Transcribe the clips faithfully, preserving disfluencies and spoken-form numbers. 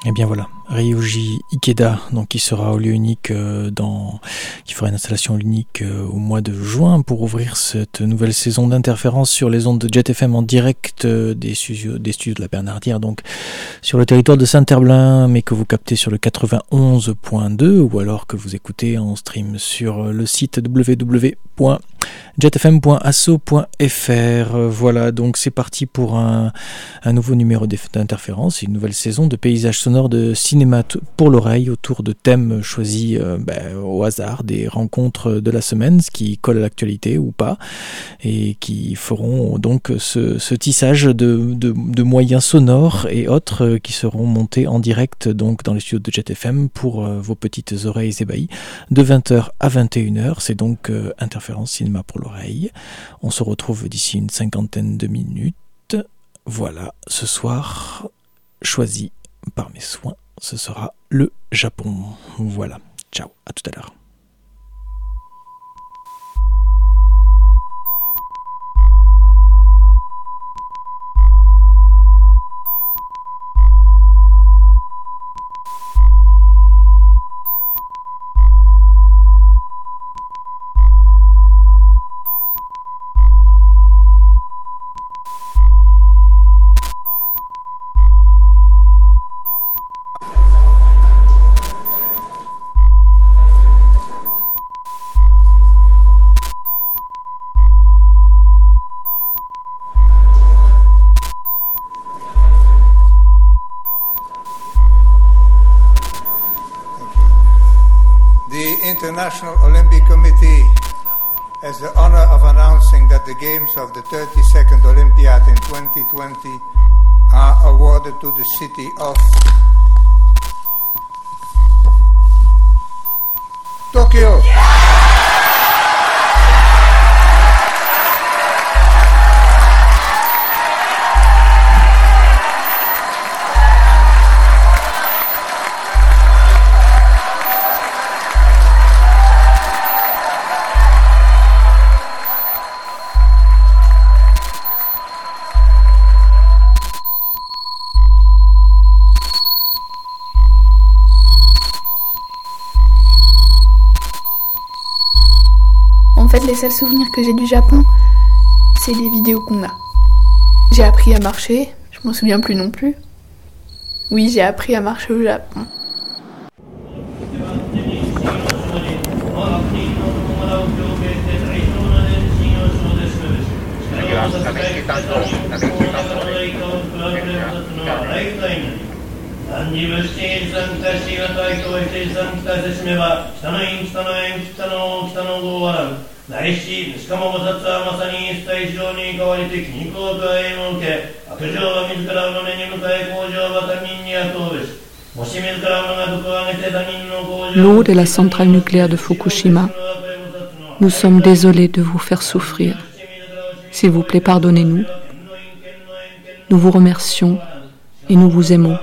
Et bien voilà, Ryuji Ikeda, donc qui sera au lieu unique euh, dans, qui fera une installation unique euh, au mois de juin pour ouvrir cette nouvelle saison d'interférence sur les ondes de Jet F M en direct euh, des studios, des studios de la Bernardière, donc sur le territoire de Saint-Herblain, mais que vous captez sur le quatre-vingt-onze point deux ou alors que vous écoutez en stream sur le site w w w point jet f m point asso point f r. Voilà, donc c'est parti pour un, un nouveau numéro d'interférence, une nouvelle saison de paysages sonores de cinéma pour l'oreille autour de thèmes choisis euh, ben, au hasard des rencontres de la semaine, ce qui colle à l'actualité ou pas, et qui feront donc ce, ce tissage de, de, de moyens sonores et autres qui seront montés en direct donc dans les studios de Jet F M pour euh, vos petites oreilles ébahies de vingt heures à vingt et une heures. C'est donc euh, interférence cinéma pour l'oreille. On se retrouve d'ici une cinquantaine de minutes. Voilà, ce soir, choisi par mes soins, ce sera le Japon. Voilà, ciao, à tout à l'heure. The International Olympic Committee has the honor of announcing that the games of the thirty-second Olympiad in twenty twenty are awarded to the city of Tokyo. En fait, les seuls souvenirs que j'ai du Japon, c'est les vidéos qu'on a. J'ai appris à marcher, je m'en souviens plus non plus. Oui, j'ai appris à marcher au Japon. L'eau de la centrale nucléaire de Fukushima, nous sommes désolés de vous faire souffrir. S'il vous plaît, pardonnez-nous. Nous vous remercions et nous vous aimons.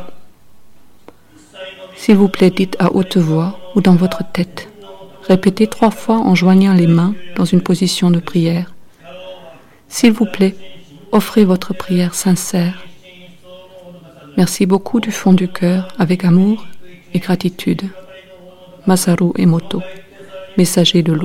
S'il vous plaît, dites à haute voix ou dans votre tête. Répétez trois fois en joignant les mains dans une position de prière. S'il vous plaît, offrez votre prière sincère. Merci beaucoup du fond du cœur, avec amour et gratitude. Masaru Emoto, messager de l'eau.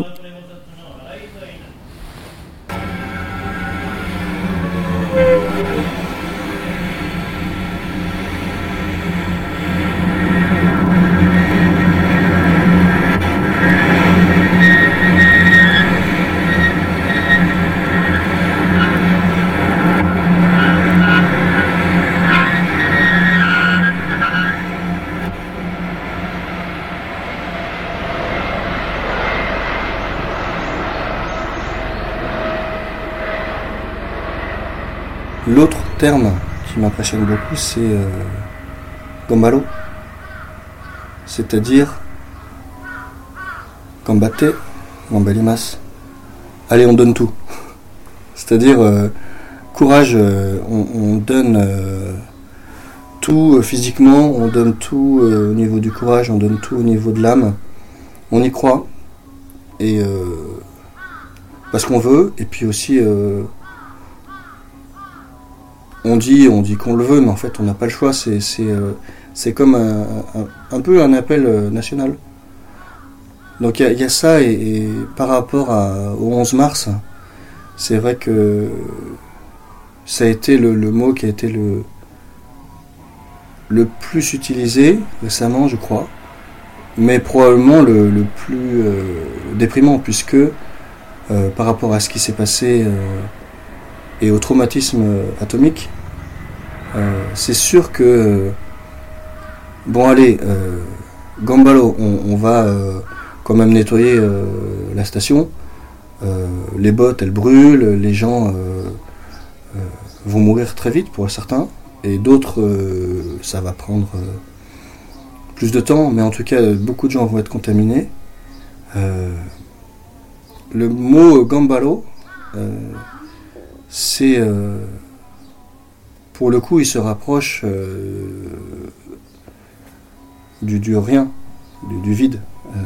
L'autre terme qui m'impressionne beaucoup, c'est euh, gambaro, c'est-à-dire gambate, gambarimasu. Allez, on donne tout. C'est-à-dire euh, courage, euh, on, on donne euh, tout euh, physiquement, on donne tout euh, au niveau du courage, on donne tout au niveau de l'âme. On y croit et euh, parce qu'on veut, et puis aussi euh, On dit, on dit qu'on le veut, mais en fait on n'a pas le choix, c'est, c'est, euh, c'est comme un, un, un peu un appel national. Donc il y, y a ça, et, et par rapport à, au onze mars, c'est vrai que ça a été le, le mot qui a été le, le plus utilisé récemment, je crois, mais probablement le, le plus euh, déprimant, puisque euh, par rapport à ce qui s'est passé euh, et au traumatisme euh, atomique, euh, c'est sûr que euh, bon allez, euh, Gambalo, on, on va euh, quand même nettoyer euh, la station, euh, les bottes elles brûlent, les gens euh, euh, vont mourir très vite pour certains, et d'autres euh, ça va prendre euh, plus de temps, mais en tout cas beaucoup de gens vont être contaminés. Euh, le mot Gambalo, euh, c'est euh, pour le coup il se rapproche euh, du, du rien, du, du vide. Euh,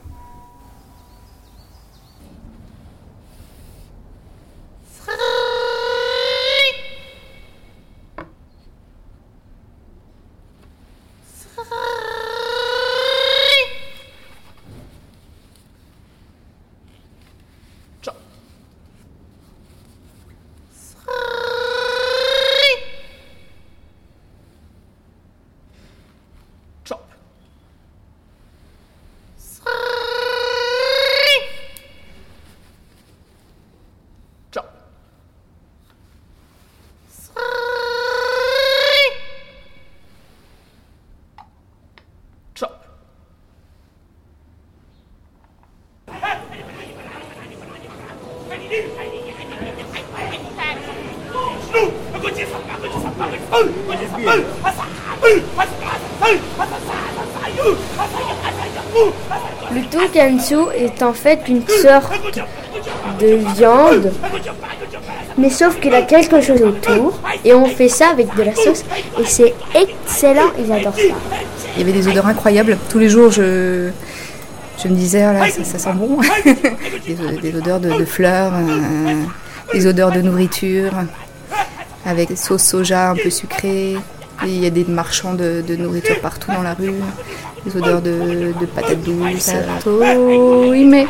Le tonkatsu est en fait une sorte de viande, mais sauf qu'il a quelque chose autour, et on fait ça avec de la sauce, et c'est excellent, ils adorent ça. Il y avait des odeurs incroyables. Tous les jours, je, je me disais, oh là, ça, ça sent bon. des, des odeurs de, de fleurs, euh, des odeurs de nourriture, avec des sauces soja un peu sucrées. Et il y a des marchands de, de nourriture partout dans la rue, des odeurs de, de patates douces. Sato ime.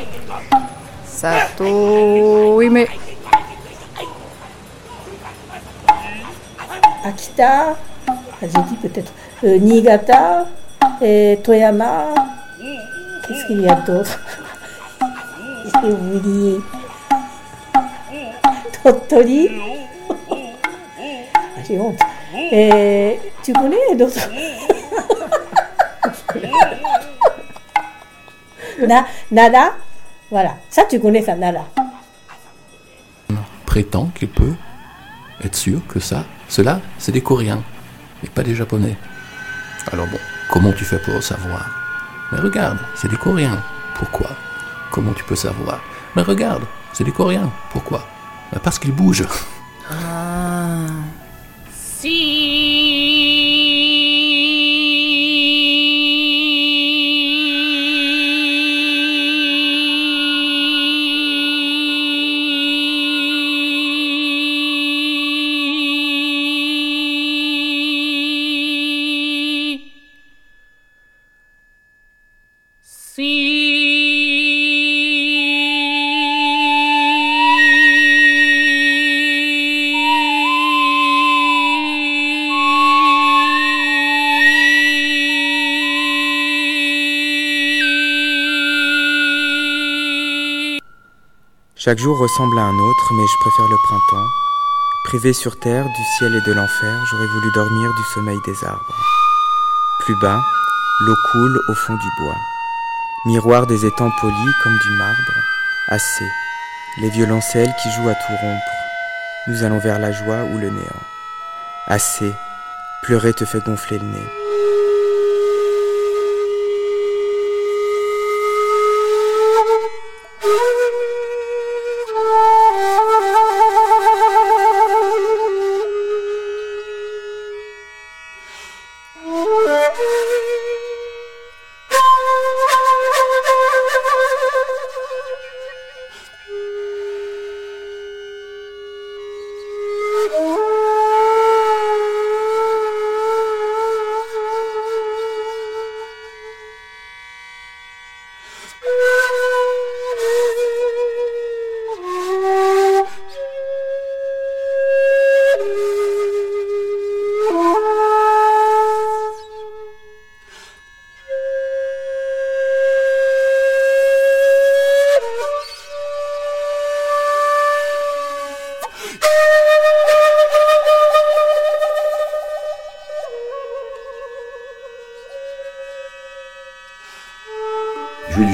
Sato ime. Akita, j'ai dit peut-être euh, Niigata, et Toyama. Qu'est-ce qu'il y a d'autre? J'ai oublié. Tottori. Ah, j'ai honte. Et tu connais d'autres? Na, Nada. Voilà, ça tu connais ça, Nada. Prétend qu'il peut être sûr que ça, cela, c'est des Coréens, mais pas des Japonais. Alors bon, comment tu fais pour le savoir? Mais regarde, c'est des Coréens. Pourquoi? Comment tu peux savoir? Mais regarde, c'est des Coréens. Pourquoi? Ben parce qu'ils bougent. Ah. Chaque jour ressemble à un autre, mais je préfère le printemps. Privé sur terre du ciel et de l'enfer, j'aurais voulu dormir du sommeil des arbres. Plus bas, l'eau coule au fond du bois. Miroir des étangs polis comme du marbre. Assez, les violoncelles qui jouent à tout rompre. Nous allons vers la joie ou le néant. Assez, pleurer te fait gonfler le nez.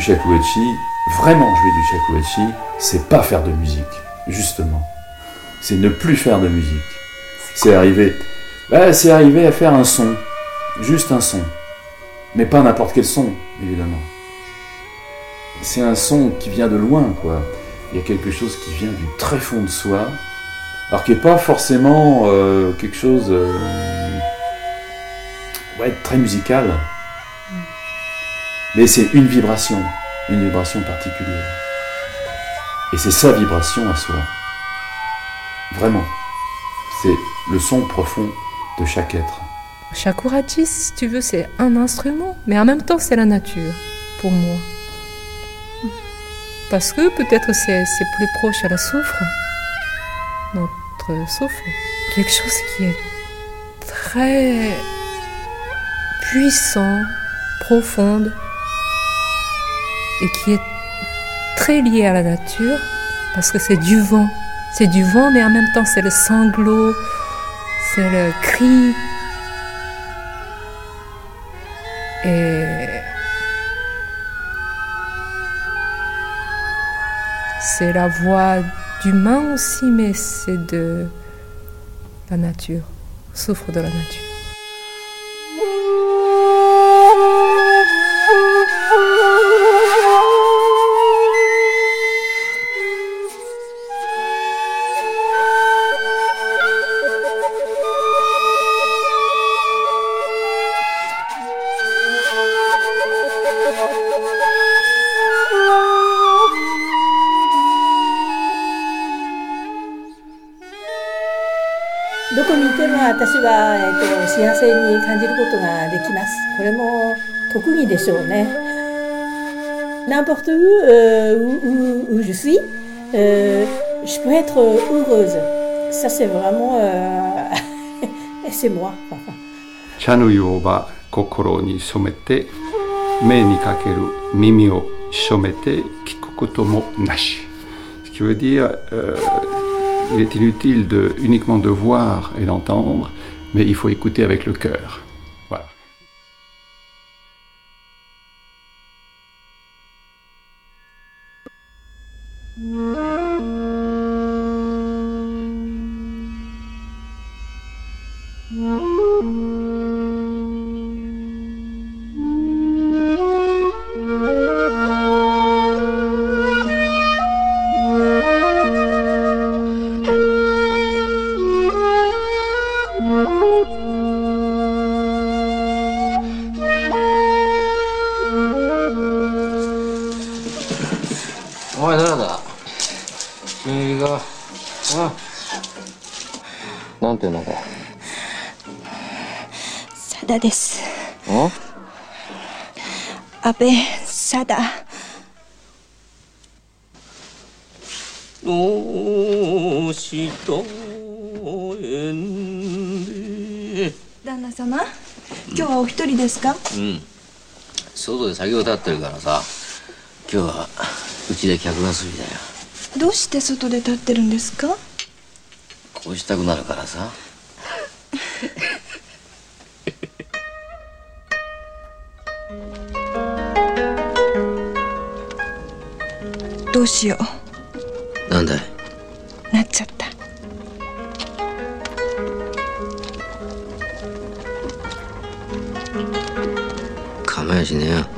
shakuhachi, vraiment jouer du shakuhachi, c'est pas faire de musique, justement. C'est ne plus faire de musique. C'est arriver, bah, c'est arriver à faire un son, juste un son. Mais pas n'importe quel son, évidemment. C'est un son qui vient de loin, quoi. Il y a quelque chose qui vient du très fond de soi, alors qui n'est pas forcément euh, quelque chose euh, ouais, très musical. Mais c'est une vibration, une vibration particulière. Et c'est sa vibration à soi. Vraiment. C'est le son profond de chaque être. Shakuhachi, si tu veux, c'est un instrument, mais en même temps, c'est la nature, pour moi. Parce que peut-être c'est, c'est plus proche à la soufre, notre souffle. Quelque chose qui est très puissant, profond, et qui est très lié à la nature, parce que c'est du vent. C'est du vent, mais en même temps, c'est le sanglot, c'est le cri. Et c'est la voix d'humain aussi, mais c'est de la nature, souffre de la nature. N'importe où, euh, où, où, où je suis, euh, je peux être heureuse. Ça, c'est vraiment... Euh, c'est moi. Chanuyo wa kokoro ni somete, me ni kakeru mimi o shomete, kiku koto mo nashi. Ce qui veut dire, euh, il est inutile de, uniquement de voir et d'entendre, mais il faut écouter avec le cœur. Voilà. Sada desu. Oh? Abe Sada. Danna様、今日はお一人ですか？ うん。外で作業立ってるからさ、今日はうちで客がすりだよ。 どうして外で立ってるんですか？ こうしたくなるからさ。 どうしよう。なんだい？ なっちゃった。 構やしねえよ。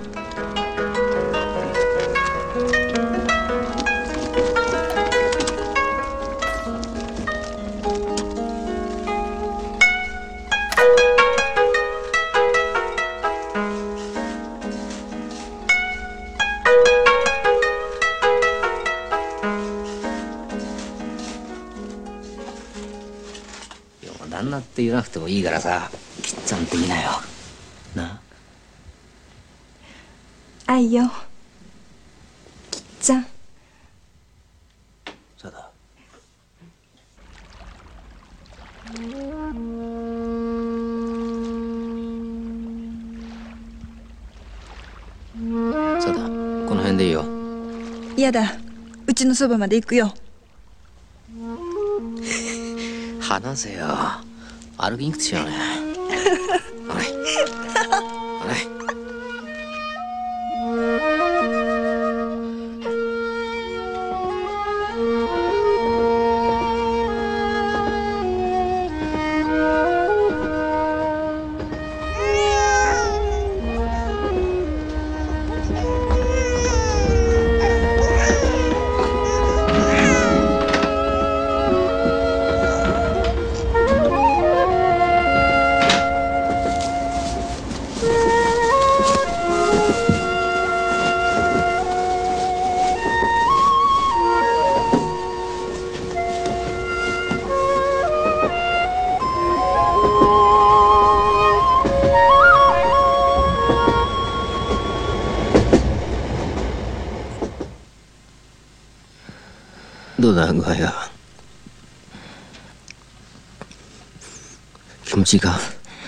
旦那って言わなくてもいいからさ、きっちゃんって言いなよ。な。 愛よ。きっちゃん。 そうだ。そうだ。この辺でいいよ。 嫌だ。うちのそばまで行くよ。 話せよ。歩きにくくちゃうね。はい。はい。 どうだ具合が。気持ちいいか。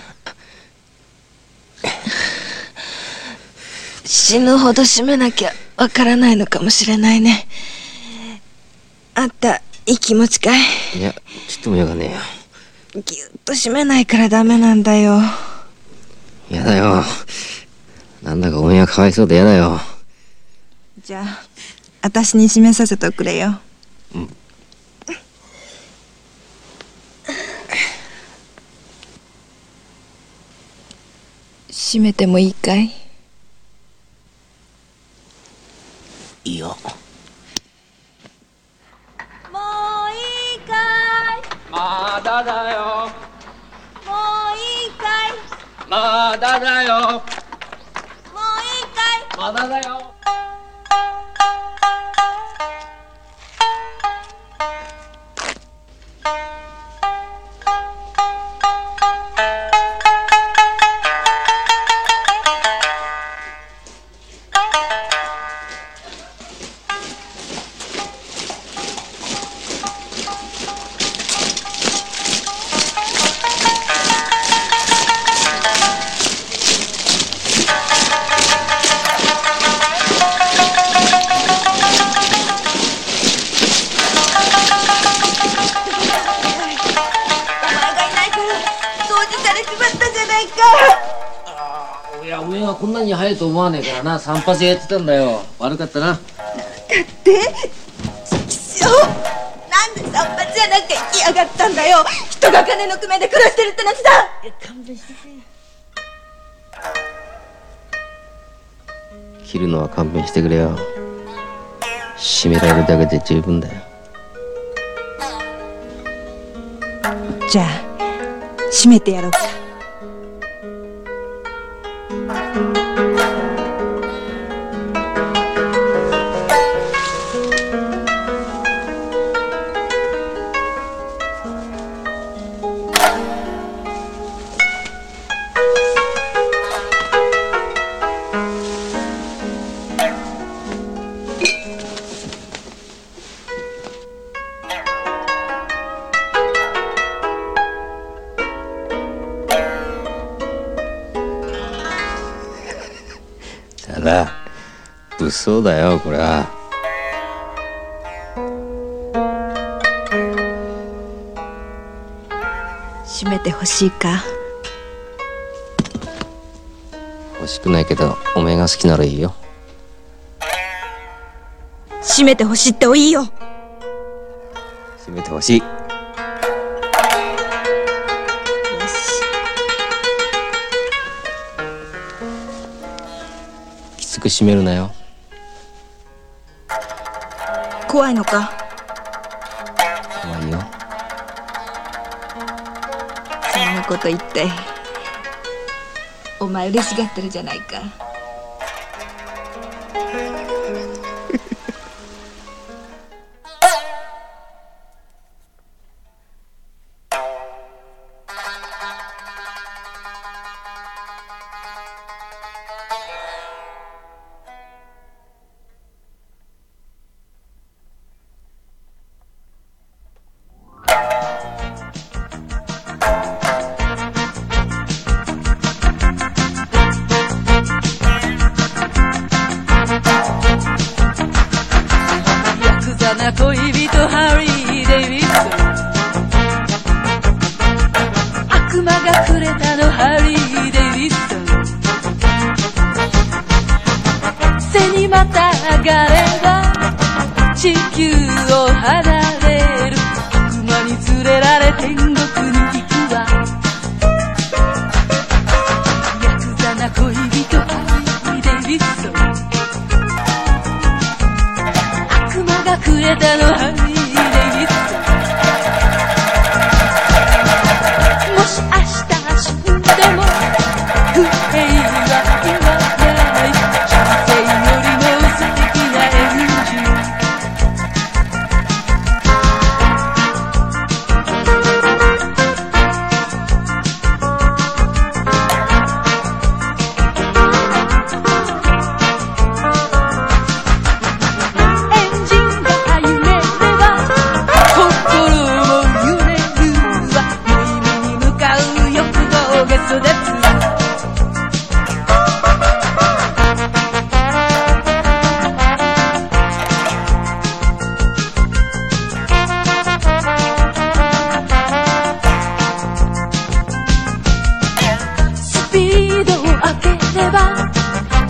死ぬほど締めなきゃわからないのかもしれないね。あんたいい気持ちかい？ いや、ちっともよがねえよ。ぎゅっと締めないからダメなんだよ。 やだよ。なんだかおめえがかわいそうでやだよ。 じゃあ私に締めさせておくれよ。 うん。 締めてもいいかい？ いいよ。 もういいかい？ まだだよ。 もういいかい？ まだだよ。 もういいかい？ まだだよ。 こんなに早いと思わねえからな。散髪やってたんだよ。悪かったな。 だってちきしょう、なんで散髪やなんか行きやがったんだよ。人が金の工面で暮らしてるってのにさ。 勘弁してくれ。切るのは勘弁してくれよ。締められるだけで十分だよ。 じゃあ締めてやろうか。 ただ物騒だよこれは。 締めてほしいか？ 欲しくないけどおめえが好きならいいよ。 締めてほしいっておいいよ。 締めてほしい。きつく締めるなよ。 怖いのか？ 怖いよ。 そんなこと言ってお前嬉しがってるじゃないか。 恋人ハリー・デイビッド、悪魔がくれたのハリー・デイビッド、背にまたがれば地球を離れる、悪魔に連れられ天国に行くわ、ヤクザな恋人ハリー・デイビッド、くれたのハリー・デイビッド、もし明日死んでも不平は言わない、人生よりも素敵なエンジン、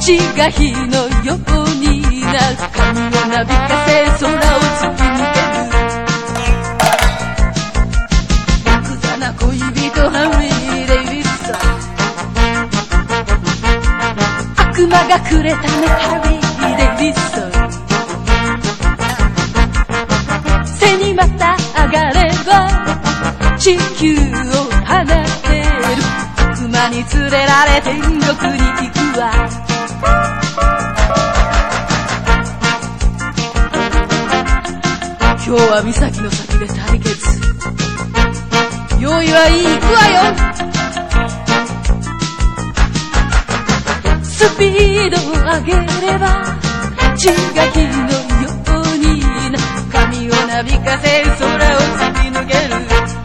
血が火のようになる髪をなびかせ空を突き抜けるヤクザな恋人ハリー・デイビッドソン悪魔がくれたねハリー・デイビッドソン背にまた上がれば地球を離れる悪魔に連れられ天国に行くわ今日は岬の先で対決用意はいい行くわよスピードを上げれば血が火のようにな髪をなびかせ空を突き抜ける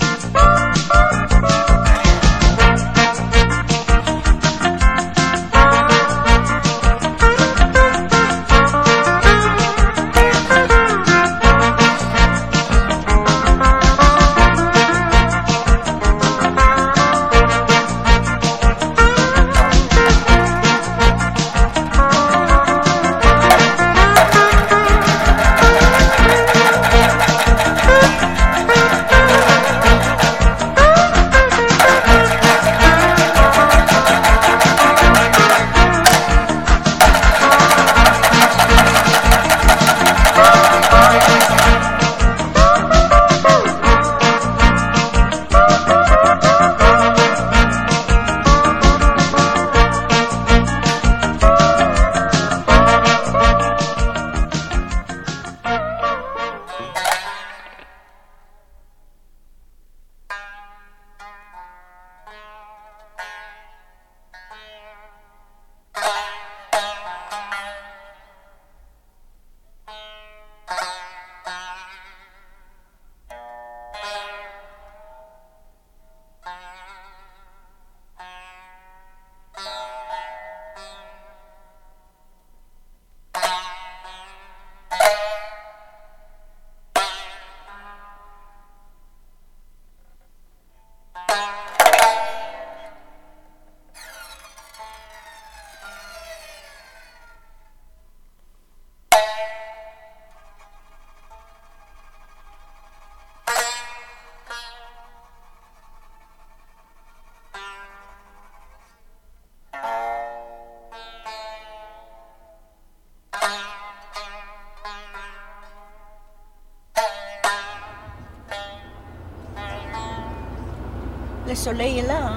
Le soleil est là. Hein.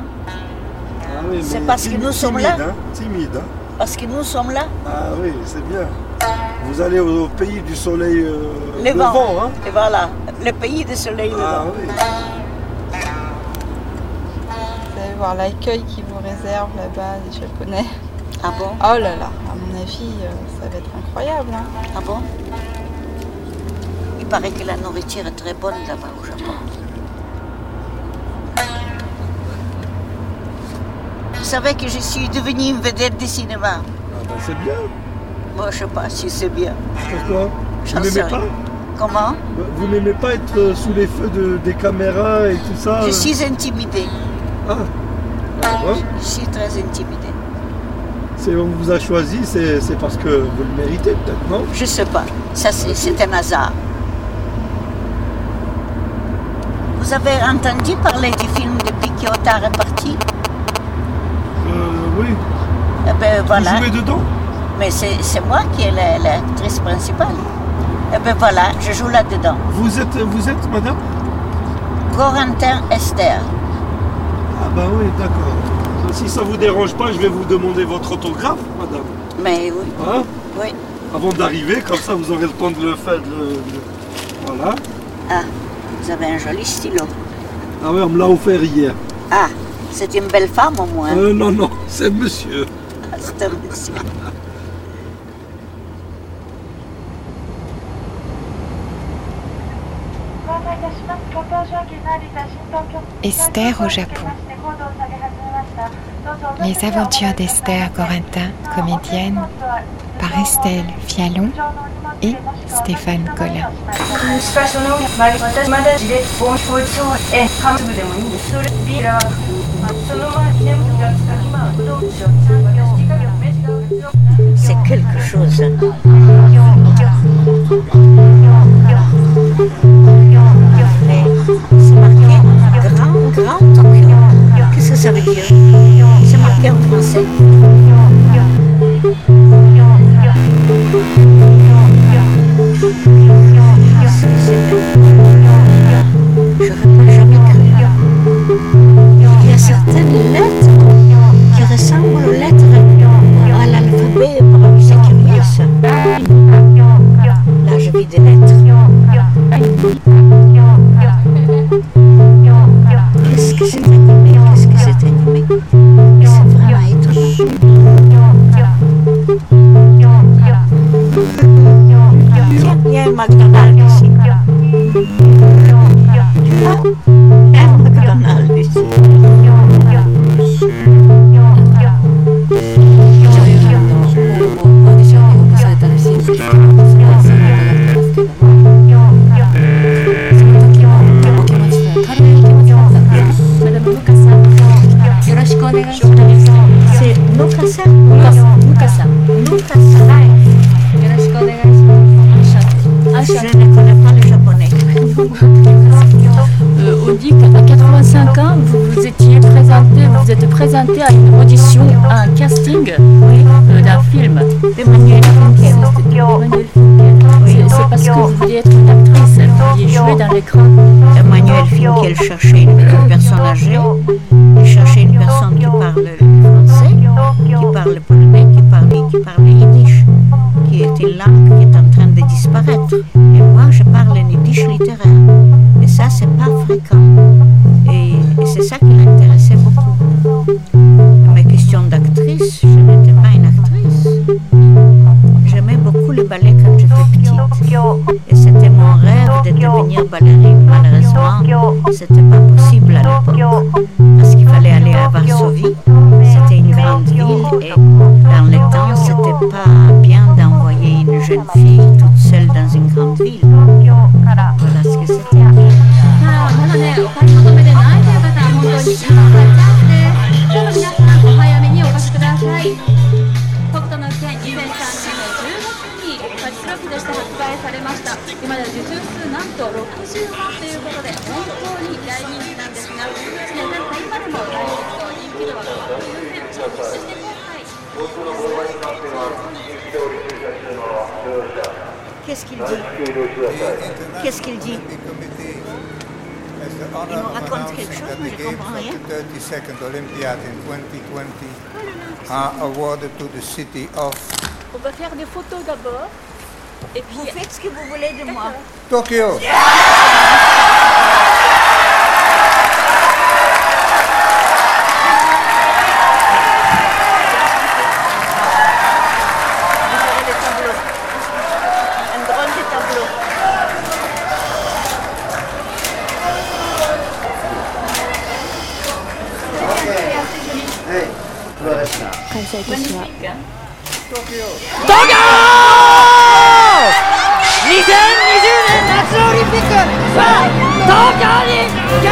Ah oui, c'est parce timide, que nous sommes timide, là. Hein, timide. Hein. Parce que nous sommes là. Ah oui, c'est bien. Vous allez au, au pays du soleil euh, levant. levant. Hein. Et voilà, le pays du soleil ah, levant. Oui. Vous allez voir l'accueil qu'ils vous réservent là-bas, les Japonais. Ah bon? Oh là là, à mon avis, ça va être incroyable. Hein. Ah bon? Il paraît que la nourriture est très bonne là-bas au Japon. Vous savez que je suis devenue une vedette de cinéma. Ah ben c'est bien. Moi je sais pas si c'est bien. Pourquoi? Vous n'aimez pas? Comment? Vous n'aimez pas être sous les feux de, des caméras et tout ça? Je suis intimidée. Ah, ah ouais. Je suis très intimidée. Si on vous a choisi, c'est parce que vous le méritez peut-être, non? Je sais pas. Ça c'est un hasard. Vous avez entendu parler du film depuis Kyoto est parti? Euh, oui. Eh ben voilà. Vous jouez dedans? Mais c'est moi qui est l'actrice principale. Eh ben voilà, je joue là-dedans. Vous êtes, vous êtes, madame? Corentin Esther. Ah bah oui, d'accord. Si ça vous dérange pas, je vais vous demander votre autographe, madame. Mais oui. Hein? Oui. Avant d'arriver, comme ça vous aurez le temps de le faire. De le, de... Voilà. Ah, vous avez un joli stylo. Ah oui, on me l'a offert hier. Ah, c'est une belle femme au moins. Euh, non, non, c'est monsieur. Ah, c'est un monsieur. Esther au Japon. Les aventures d'Esther Corentin, comédienne, par Estelle Fialon et Stéphane Collin. Thank you. c'est quelque chose. Mais c'est marqué Grand, Grand Tokyo. Qu'est-ce que ça veut dire? C'est marqué en français. Je n'aurais jamais cru. Il y a certaines lettres qui ressemblent aux lettres à l'alphabet sécurité. Là, je vis des lettres. Qu'est-ce que c'est animé? Qu'est-ce que c'est animé? C'est vraiment étonnant. Tiens, il y a un McDonald's ici. Tu vois? Il y a un McDonald's ici. C'est Nukasa. Nukasa. Nukasa. Je ne connais pas le japonais. Euh, on dit qu'à quatre-vingt-cinq ans, vous vous étiez présenté, vous vous êtes présenté à une audition, à un casting euh, d'un film. Emmanuel Finkiel. C'est c'est parce que vous vouliez être une actrice, vous vouliez jouer dans l'écran. Emmanuel Finkiel cherchait une, une personne âgée, il cherchait une personne qui parle le français, qui parle polonais, qui parle, qui parle yiddish, qui est une langue qui est en train de disparaître. Et moi, je parle un yiddish littéraire. Et ça, c'est pas fréquent. Et, et c'est ça qui l'intéressait beaucoup. Mes questions d'actrice, je n'étais pas une actrice. J'aimais beaucoup le ballet quand j'étais petite. Et c'était mon rêve de devenir ballerine. Malheureusement, c'était pas possible à l'époque. Parce qu'il fallait aller à Varsovie. C'était une grande ville. Et dans le temps, c'était pas bien d'envoyer une jeune fille toute seule dans une grande ville. Voilà ce que c'était. まだね、お買い求めでないという方は本当に今がチャンスです。どうぞ皆さんお早めにお越しください。北斗の拳にせんさんねんのじゅうがつにパチスロックとして発売されました。今では受注数なんとろくじゅうまんということで本当に大人気なんですが、いちねん経った今でも大ヒット、人気度は変わっていません。そして今回 Qu'est-ce qu'il dit? Qu'est-ce qu'il dit? Il nous raconte quelque chose, mais je ne comprends rien. thirty-second Olympiad in twenty twenty are awarded to the city of On va faire des photos d'abord. Et puis vous faites ce que vous voulez de moi. Tokyo. Magnifique, hein? Tokyo! Tokyo! にせんにじゅうねん夏オリンピックさあ東京に決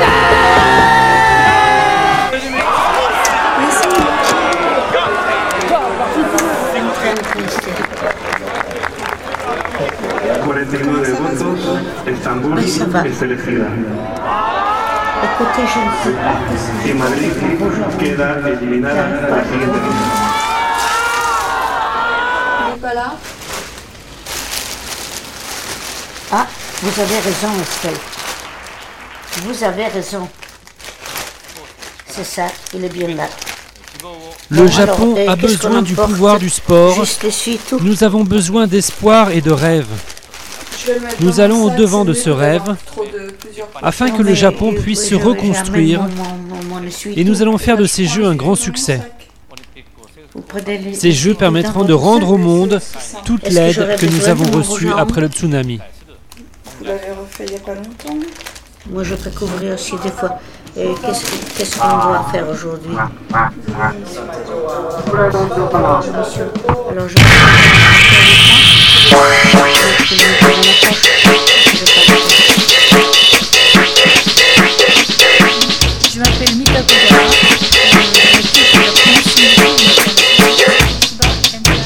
定 cuarenta y nueve votos, Estambul es elegida. Écoutez, je ne sais pas que c'est... Y Madrid queda eliminada a la siguiente ronda. Il n'est pas là. Ah, vous avez raison, Estelle. Vous avez raison. C'est ça, il est bien là. Le bon, Japon alors, a besoin du pouvoir du sport. Nous avons besoin d'espoir et de rêve. Nous allons au devant de ce rêve afin que le Japon puisse se reconstruire et nous allons faire de ces Jeux un grand succès. Ces Jeux permettront de rendre au monde toute l'aide que nous avons reçue après le tsunami. Vous l'avez refait il n'y a pas longtemps. Moi je peux couvrir aussi des fois. Et qu'est-ce, qu'est-ce qu'on doit faire aujourd'hui? Alors je Je m'appelle Mika Kodama. Je suis la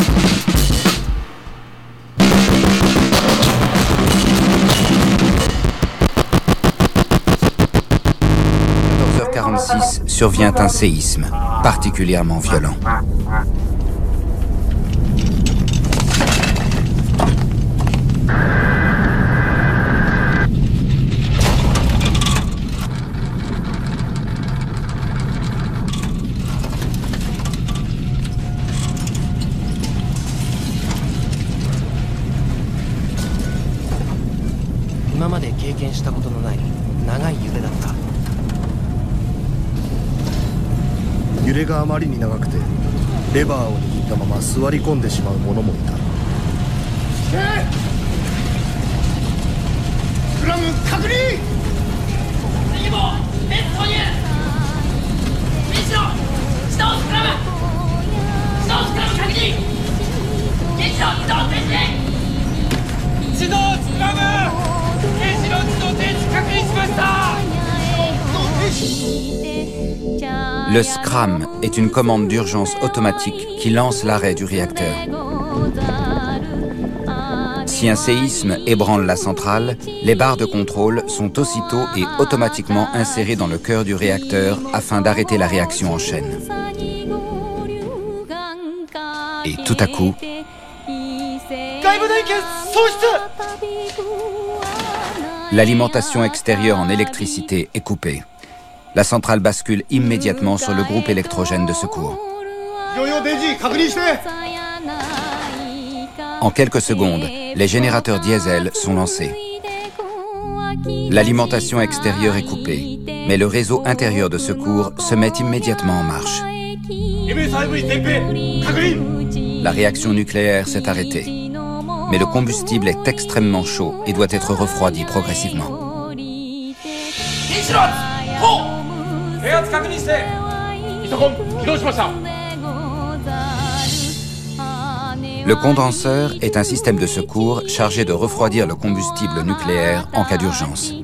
quatorze heures quarante-six survient un séisme particulièrement violent. Le SCRAM est une commande d'urgence automatique qui lance l'arrêt du réacteur. Si un séisme ébranle la centrale, les barres de contrôle sont aussitôt et automatiquement insérées dans le cœur du réacteur afin d'arrêter la réaction en chaîne. Et tout à coup, l'alimentation extérieure en électricité est coupée. La centrale bascule immédiatement sur le groupe électrogène de secours. En quelques secondes, les générateurs diesel sont lancés. L'alimentation extérieure est coupée, mais le réseau intérieur de secours se met immédiatement en marche. La réaction nucléaire s'est arrêtée, mais le combustible est extrêmement chaud et doit être refroidi progressivement. Le condenseur est un système de secours chargé de refroidir le combustible nucléaire en cas d'urgence.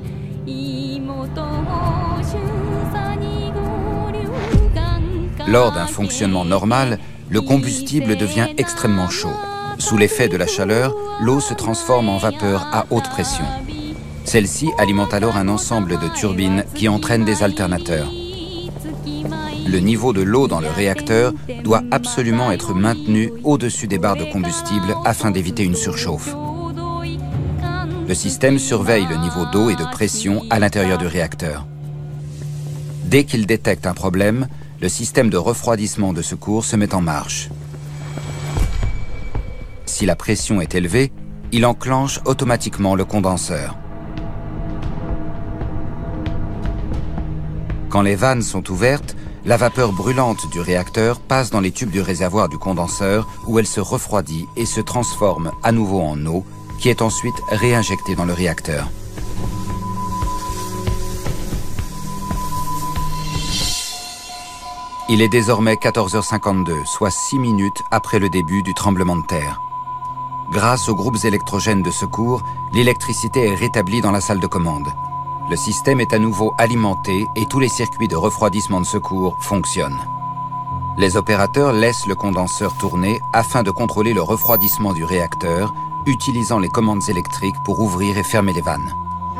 Lors d'un fonctionnement normal, le combustible devient extrêmement chaud. Sous l'effet de la chaleur, l'eau se transforme en vapeur à haute pression. Celle-ci alimente alors un ensemble de turbines qui entraînent des alternateurs. Le niveau de l'eau dans le réacteur doit absolument être maintenu au-dessus des barres de combustible afin d'éviter une surchauffe. Le système surveille le niveau d'eau et de pression à l'intérieur du réacteur. Dès qu'il détecte un problème, le système de refroidissement de secours se met en marche. Si la pression est élevée, il enclenche automatiquement le condenseur. Quand les vannes sont ouvertes, la vapeur brûlante du réacteur passe dans les tubes du réservoir du condenseur où elle se refroidit et se transforme à nouveau en eau qui est ensuite réinjectée dans le réacteur. Il est désormais quatorze heures cinquante-deux, soit six minutes après le début du tremblement de terre. Grâce aux groupes électrogènes de secours, l'électricité est rétablie dans la salle de commande. Le système est à nouveau alimenté et tous les circuits de refroidissement de secours fonctionnent. Les opérateurs laissent le condenseur tourner afin de contrôler le refroidissement du réacteur, utilisant les commandes électriques pour ouvrir et fermer les vannes.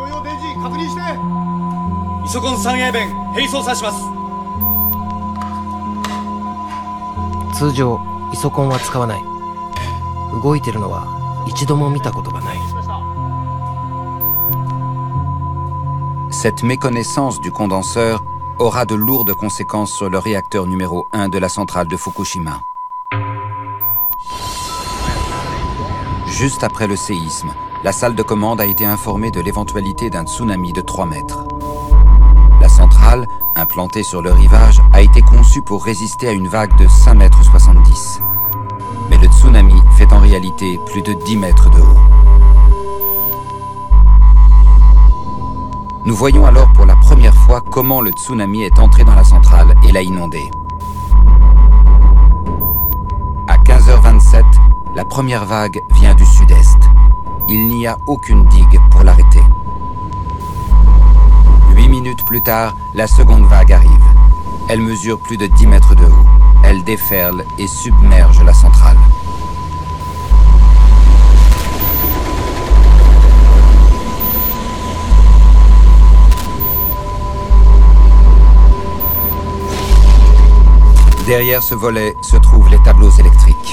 Cette méconnaissance du condenseur aura de lourdes conséquences sur le réacteur numéro un de la centrale de Fukushima. Juste après le séisme, la salle de commande a été informée de l'éventualité d'un tsunami de trois mètres. La centrale, implantée sur le rivage, a été conçue pour résister à une vague de cinq mètres soixante-dix. Mais le tsunami fait en réalité plus de dix mètres de haut. Nous voyons alors pour la première fois comment le tsunami est entré dans la centrale et l'a inondée. À quinze heures vingt-sept, la première vague vient du sud-est. Il n'y a aucune digue pour l'arrêter. Huit minutes plus tard, la seconde vague arrive. Elle mesure plus de dix mètres de haut. Elle déferle et submerge la centrale. Derrière ce volet se trouvent les tableaux électriques.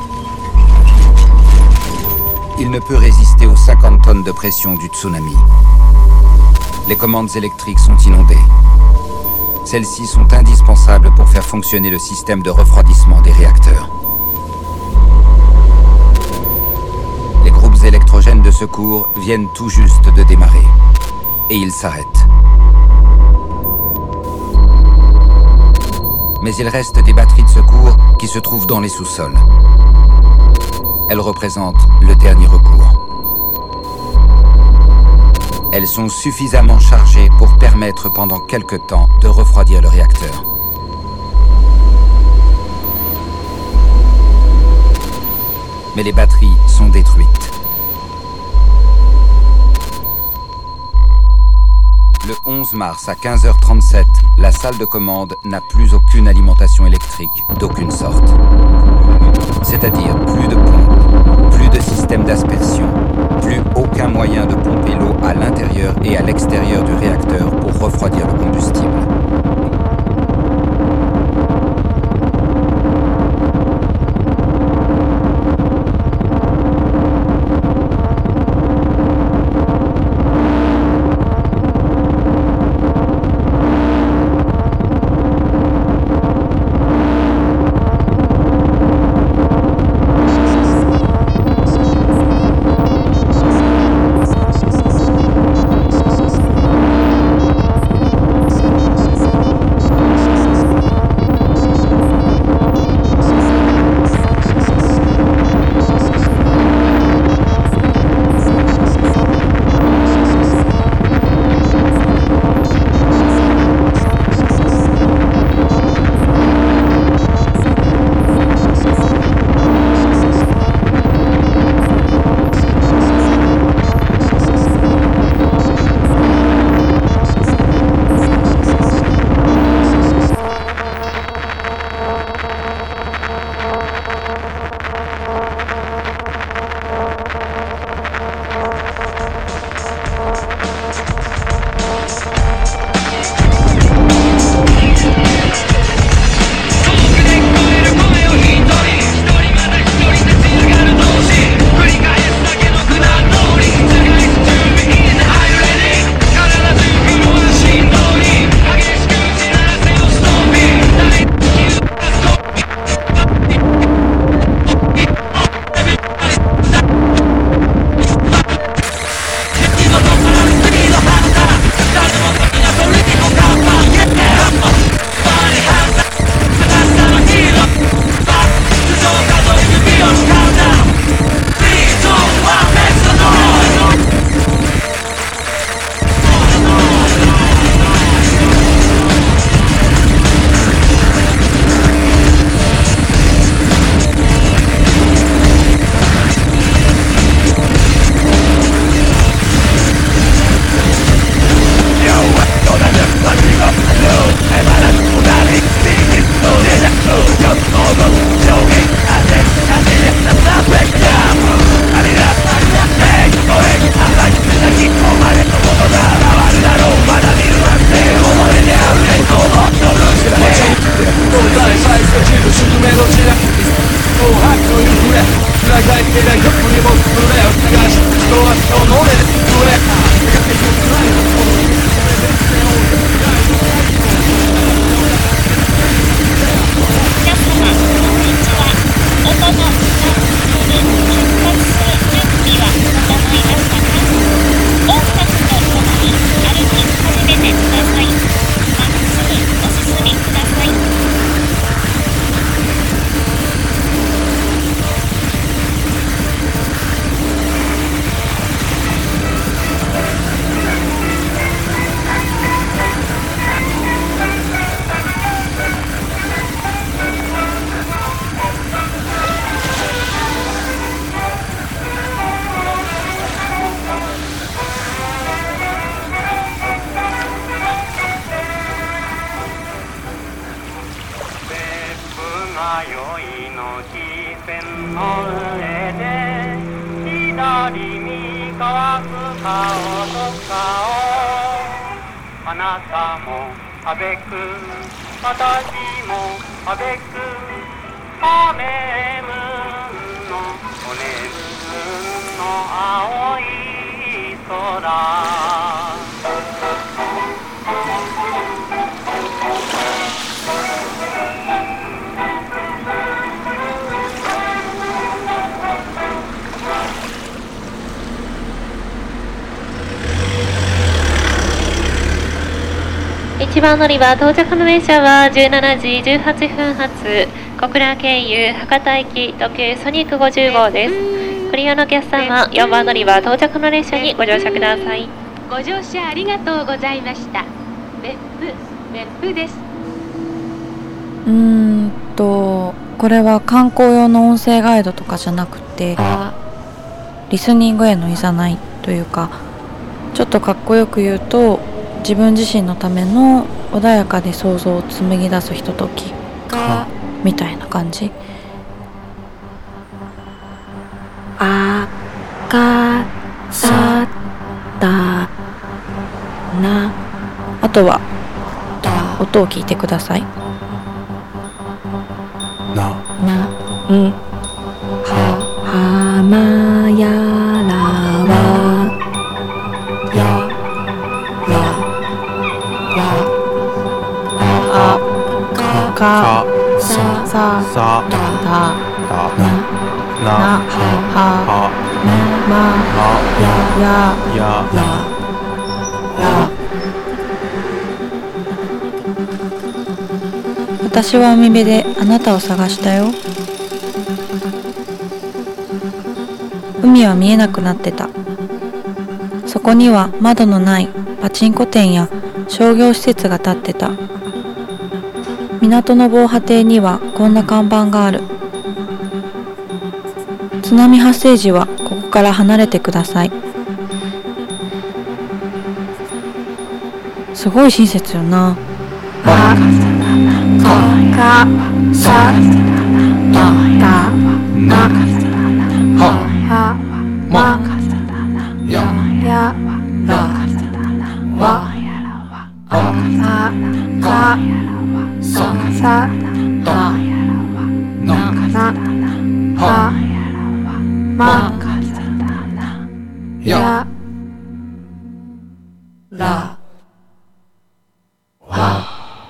Il ne peut résister aux cinquante tonnes de pression du tsunami. Les commandes électriques sont inondées. Celles-ci sont indispensables pour faire fonctionner le système de refroidissement des réacteurs. Les groupes électrogènes de secours viennent tout juste de démarrer. Et ils s'arrêtent. Mais il reste des batteries de secours qui se trouvent dans les sous-sols. Elles représentent le dernier recours. Elles sont suffisamment chargées pour permettre pendant quelque temps de refroidir le réacteur. Mais les batteries sont détruites. Le onze mars à quinze heures trente-sept, la salle de commande n'a plus aucune alimentation électrique d'aucune sorte. C'est-à-dire plus de pompe, plus de système d'aspersion, plus aucun moyen de pomper l'eau à l'intérieur et à l'extérieur du réacteur pour refroidir le combustible. いちばん乗り場到着の列車はじゅうしちじじゅうはっぷん発小倉経由博多行き特急ソニックごじゅう号です。ご利用のお客様、よんばん乗り場到着の列車にご乗車ください。 ご乗車ありがとうございました。別府別府です。 うーんとこれは観光用の音声ガイドとかじゃなくてリスニングへのいざないというか、ちょっとかっこよく言うと自分自身のための穏やかで想像を紡ぎ出すひとときみたいな感じ。あかさだな、あとは音を聞いてください。 なな、うん、ははまやらわやあかささだななはまややや。私は海辺であなたを探したよ。海は見えなくなってた。そこには窓のないパチンコ店や商業施設が建ってた。港の防波堤にはこんな看板がある。津波発生時はここから離れてください。すごい親切よな。あかさだなはまややらわあかさだなはまやらわ。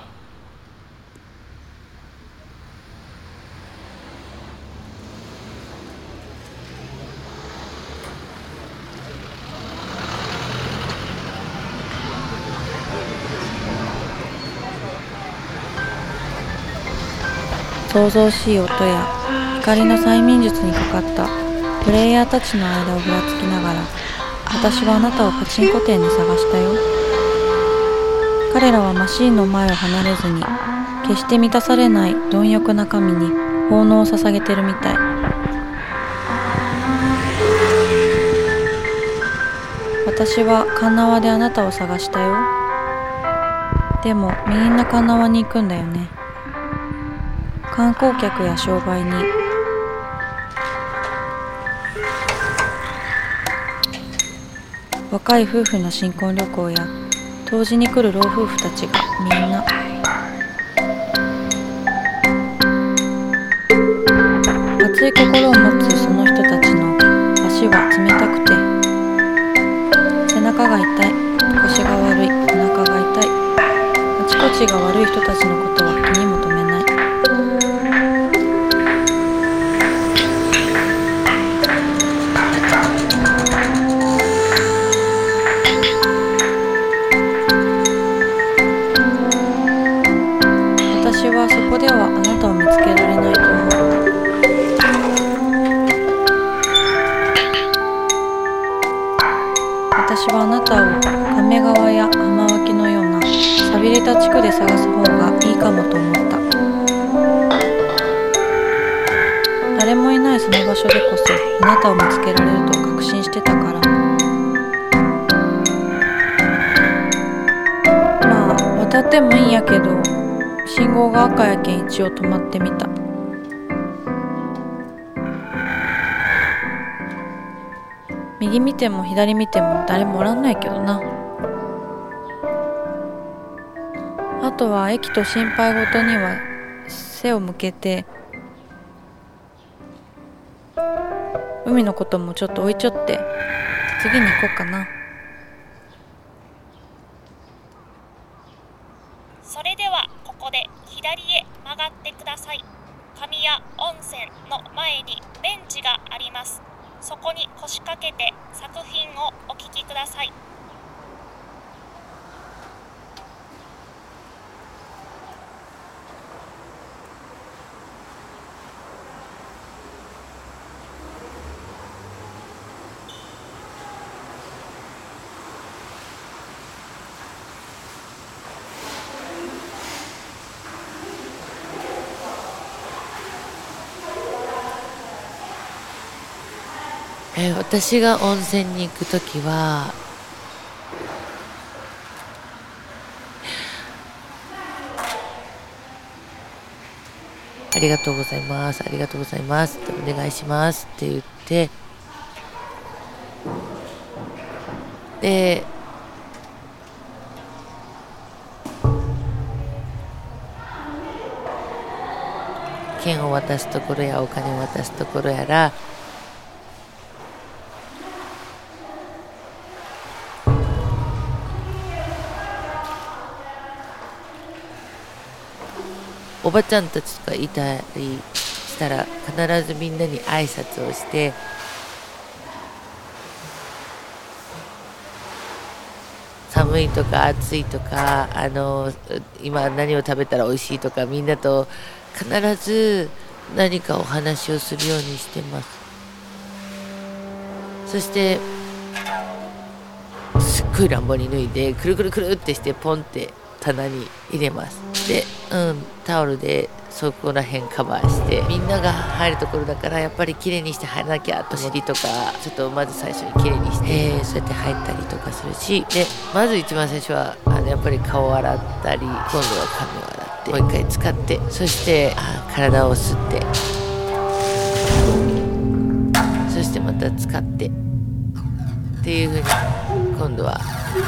騒々しい音や光の催眠術にかかったプレイヤーたちの間をぶらつきながら、私はあなたをパチンコ店に探したよ。彼らはマシーンの前を離れずに、決して満たされない貪欲な神に奉納を捧げてるみたい。私は鉄輪であなたを探したよ。でもみんな鉄輪に行くんだよね。観光客や商売に。若い夫婦の新婚旅行や湯治に来る老夫婦たちがみんな。熱い心を持つその人たちの足は冷たくて、背中が痛い、腰が悪い、お腹が痛い、あちこちが悪い人たちのことは気にも留めない。私はそこではあなたを見つけられないと思う。私はあなたを亀川や浜脇のような寂れた地区で探す方がいいかもと思った。誰もいないその場所でこそあなたを見つけられると確信してたから。まあ渡ってもいいんやけど、信号が赤やけん一応止まってみた。右見ても左見ても誰もおらんないけどな。あとは駅と心配事には背を向けて、海のこともちょっと置いちょって次に行こうかな。 それではここで左へ曲がってください。神谷温泉の前にベンチがあります。そこに腰掛けて作品をお聴きください。 えー、私が温泉に行くときはありがとうございますありがとうございますってお願いしますって言って、で券を渡すところやお金を渡すところやら、おばちゃんたちとかいたりしたら必ずみんなに挨拶をして、寒いとか暑いとか、あの今何を食べたら美味しいとか、みんなと必ず何かお話をするようにしてます。そしてすっごい乱暴に脱いでくるくるくるってしてポンって棚に入れます。で、うん、タオルでそこら辺カバーして、みんなが入るところだからやっぱり綺麗にして入らなきゃと、尻とかちょっとまず最初に綺麗にして、えー、そうやって入ったりとかするし、でまず一番最初はあのやっぱり顔を洗ったり、今度は髪を洗ってもう一回使って、そしてあ体を吸って、そしてまた使ってっていう風に今度は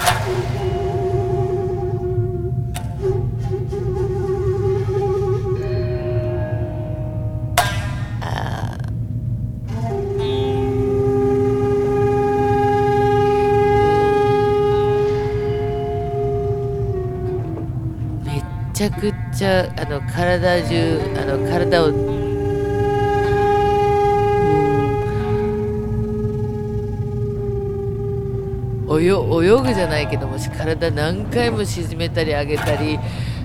めちゃくちゃあの体中あの体を泳, 泳ぐじゃないけども、体何回も沈めたり上げたり、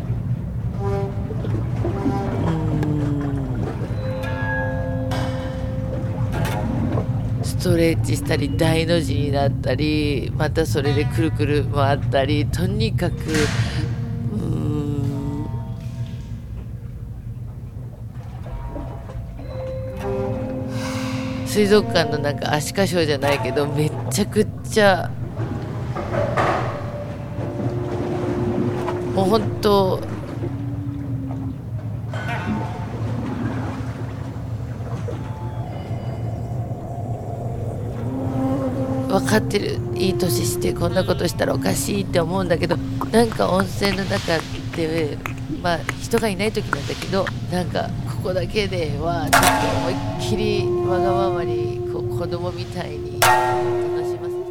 ストレッチしたり大の字になったり、またそれでくるくる回ったり、とにかく水族館のなんかアシカショーじゃないけど、めっちゃくちゃもう本当分かってる、いい年してこんなことしたらおかしいって思うんだけど、なんか温泉の中でまあ人がいない時なんだけど、なんかここだけではちょっと思いっきりわがままにこう子供みたいに楽しませて。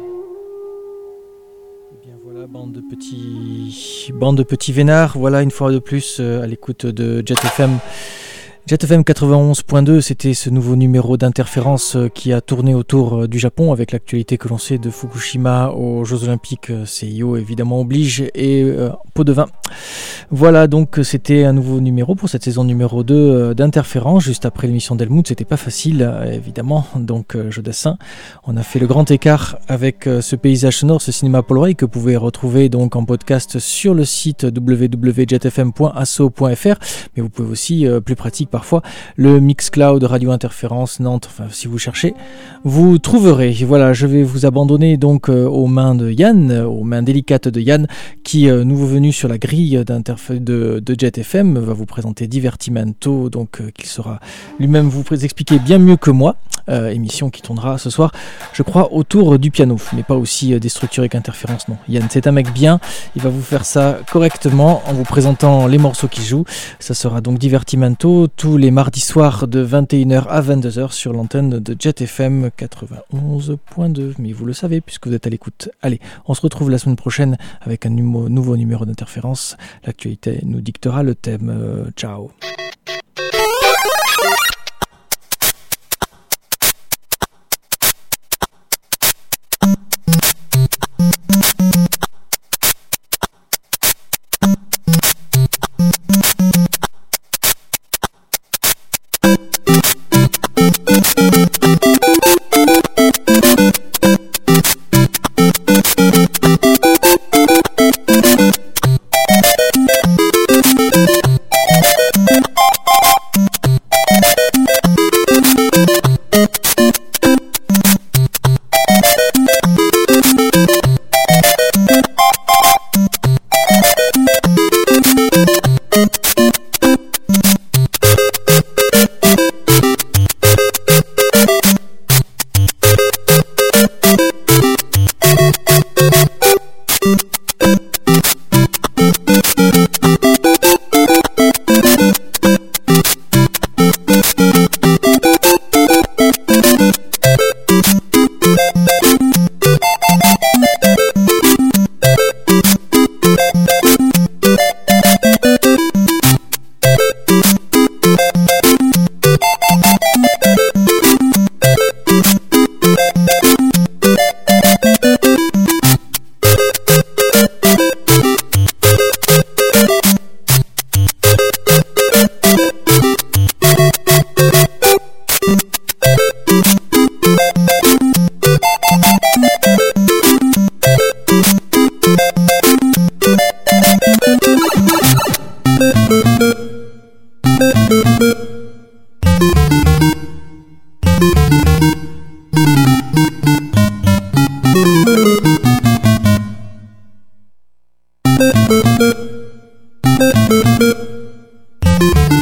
Bien voilà, bande de petits, bande de petits vénards. Voilà une fois de plus euh, à l'écoute de Jet F M. Jet F M quatre-vingt-onze point deux, c'était ce nouveau numéro d'interférence qui a tourné autour du Japon avec l'actualité que l'on sait de Fukushima aux Jeux Olympiques. C I O évidemment oblige, et euh, pot de vin. Voilà, donc c'était un nouveau numéro pour cette saison numéro deux euh, d'interférence, juste après l'émission d'Helmut. C'était pas facile, euh, évidemment, donc euh, jeu dessin. On a fait le grand écart avec euh, ce paysage sonore, ce cinéma Polaroid que vous pouvez retrouver donc en podcast sur le site w w w point jet f m point asso point f r, mais vous pouvez aussi, euh, plus pratique, parfois. Le Mixcloud Radio Interférence Nantes, enfin si vous cherchez, vous trouverez. Voilà, je vais vous abandonner donc euh, aux mains de Yann, euh, aux mains délicates de Yann, qui, euh, nouveau venu sur la grille de, de Jet F M, va vous présenter Divertimento, donc euh, qu'il saura lui-même vous expliquer bien mieux que moi. Euh, émission qui tournera ce soir, je crois, autour du piano, mais pas aussi euh, déstructuré qu'Interférence, non. Yann, c'est un mec bien, il va vous faire ça correctement en vous présentant les morceaux qu'il joue. Ça sera donc Divertimento tous les mardis soirs de vingt et une heures à vingt-deux heures sur l'antenne de Jet F M quatre-vingt-onze point deux, mais vous le savez puisque vous êtes à l'écoute. Allez, on se retrouve la semaine prochaine avec un numéro, nouveau numéro d'Interférence. L'actualité nous dictera le thème. Euh, ciao.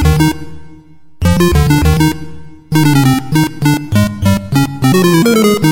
Thank you.